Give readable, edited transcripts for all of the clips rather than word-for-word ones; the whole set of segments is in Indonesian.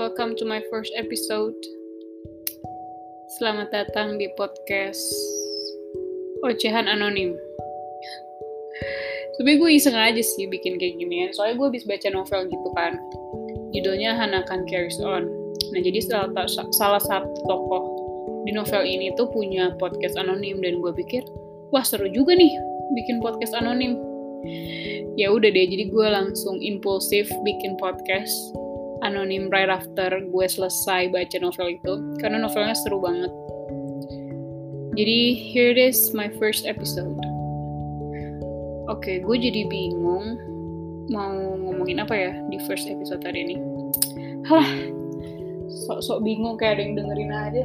welcome to my first episode. Selamat datang di podcast Ocehan Anonim. Sebenernya gue iseng aja sih bikin kayak gini ya. Soalnya gue habis baca novel gitu kan. Judulnya Hana-kan Carries On. Nah jadi salah satu tokoh di novel ini tuh punya podcast anonim. Dan gue pikir, wah seru juga nih bikin podcast anonim. Ya udah deh, jadi gue langsung impulsif bikin podcast anonim right after gue selesai baca novel itu, karena novelnya seru banget. Jadi here it is, my first episode. Oke, gue jadi bingung mau ngomongin apa ya di first episode hari ini. Halah, sok-sok bingung kayak ada yang dengerin aja.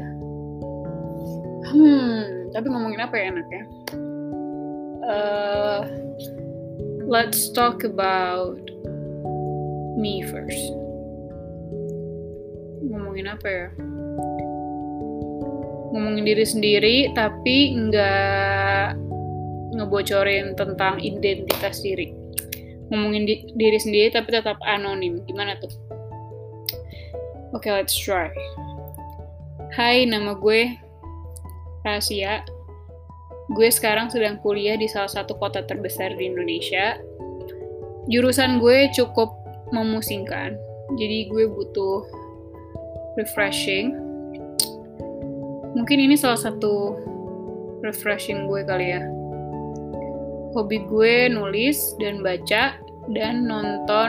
Tapi ngomongin apa ya enaknya? Let's talk about me first. Ngomongin apa ya? Ngomongin diri sendiri, tapi nggak ngebocorin tentang identitas diri. Ngomongin diri sendiri, tapi tetap anonim. Gimana tuh? Oke, let's try. Hai, nama gue Rahasia. Gue sekarang sedang kuliah di salah satu kota terbesar di Indonesia. Jurusan gue cukup memusingkan, jadi gue butuh refreshing. Mungkin ini salah satu refreshing gue kali ya. Hobi gue nulis dan baca dan nonton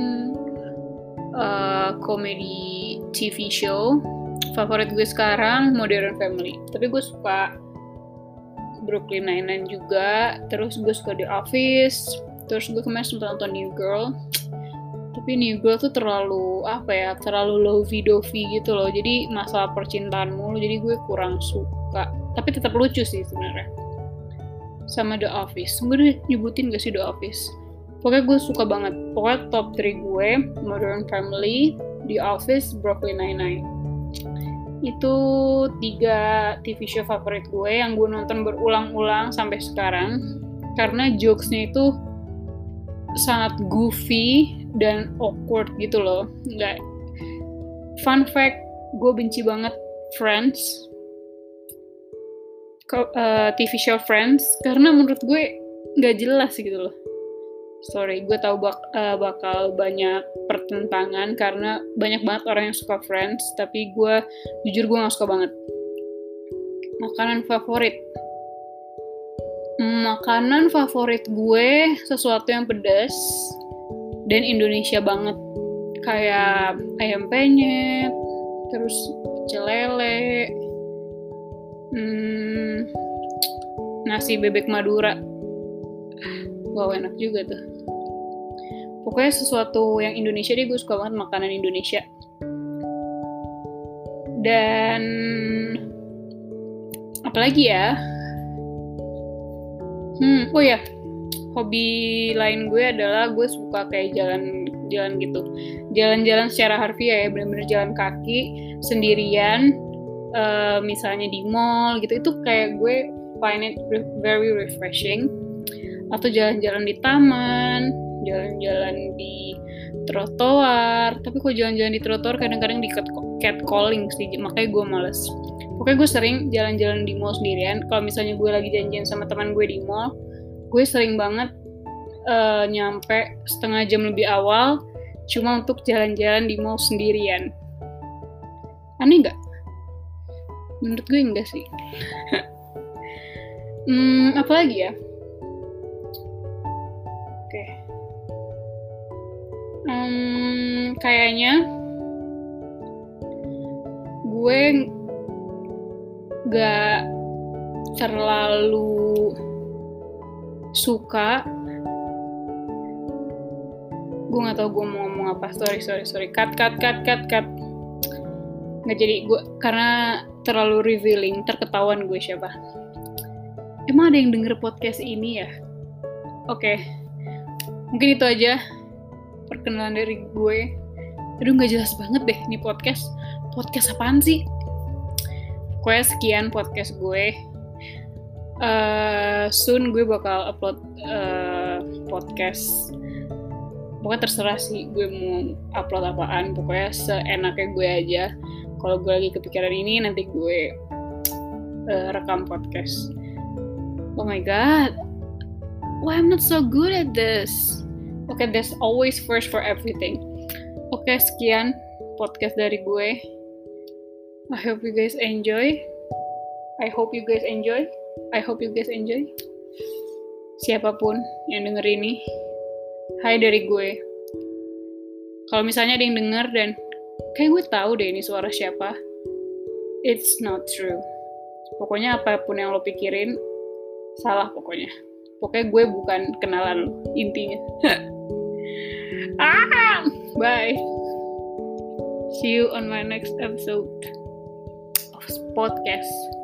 komedi TV show. Favorit gue sekarang Modern Family. Tapi gue suka Brooklyn Nine-Nine juga. Terus gue suka The Office. Terus gue kemarin sempat nonton New Girl. Tapi New Girl tuh terlalu lovey-dovey gitu loh. Jadi masalah percintaan mulu. Jadi gue kurang suka. Tapi tetap lucu sih sebenarnya. Sama The Office. Gue udah nyebutin gak sih The Office? Pokoknya gue suka banget. Pokoknya top 3 gue, Modern Family, The Office, Brooklyn Nine-Nine. Itu 3 TV show favorit gue yang gue nonton berulang-ulang sampai sekarang. Karena jokesnya itu sangat goofy dan awkward gitu loh. Nggak. Fun fact, gue benci banget Friends, TV show Friends, karena menurut gue nggak jelas gitu loh. Sorry, gue tahu bakal banyak pertentangan karena banyak banget orang yang suka Friends, tapi jujur gue nggak suka banget. Makanan favorit gue sesuatu yang pedas dan Indonesia banget, kayak ayam penyet, terus pecel lele, nasi bebek Madura. Wow, enak juga tuh. Pokoknya sesuatu yang Indonesia deh, gue suka banget makanan Indonesia. Dan apalagi ya? Oh ya, hobi lain gue adalah gue suka kayak jalan gitu. Jalan-jalan secara harfiah ya, bener-bener jalan kaki sendirian. Misalnya di mall gitu, itu kayak gue find it very refreshing. Atau jalan-jalan di taman, jalan-jalan di trotoar. Tapi kok jalan-jalan di trotoar kadang-kadang di catcalling sih, makanya gue males. Pokoknya gue sering jalan-jalan di mall sendirian. Kalau misalnya gue lagi janjian sama teman gue di mall, gue sering banget nyampe setengah jam lebih awal cuma untuk jalan-jalan di mall sendirian. Aneh nggak? Menurut gue enggak sih. Apa lagi ya? Oke. Kayaknya gue gak terlalu suka. Gue gak tahu gue mau ngomong apa. Sorry. Cut. Nggak jadi gue, karena terlalu revealing, terketahuan gue siapa. Emang ada yang denger podcast ini ya? Oke. Mungkin itu aja perkenalan dari gue. Aduh, gak jelas banget deh nih podcast. Podcast apaan sih? Pokoknya sekian podcast gue. Soon gue bakal upload podcast pokoknya terserah sih gue mau upload apaan, pokoknya seenaknya gue aja. Kalau gue lagi kepikiran ini, nanti gue rekam podcast. Oh my god, why I'm not so good at this? Okay, there's always first for everything. Okay, sekian podcast dari gue. I hope you guys enjoy. Siapapun yang denger ini, hai dari gue. Kalau misalnya ada yang denger dan kayak gue tahu deh ini suara siapa, it's not true. Pokoknya apapun yang lo pikirin salah pokoknya. Pokoknya gue bukan kenalan lo, intinya. Bye. See you on my next episode of podcast.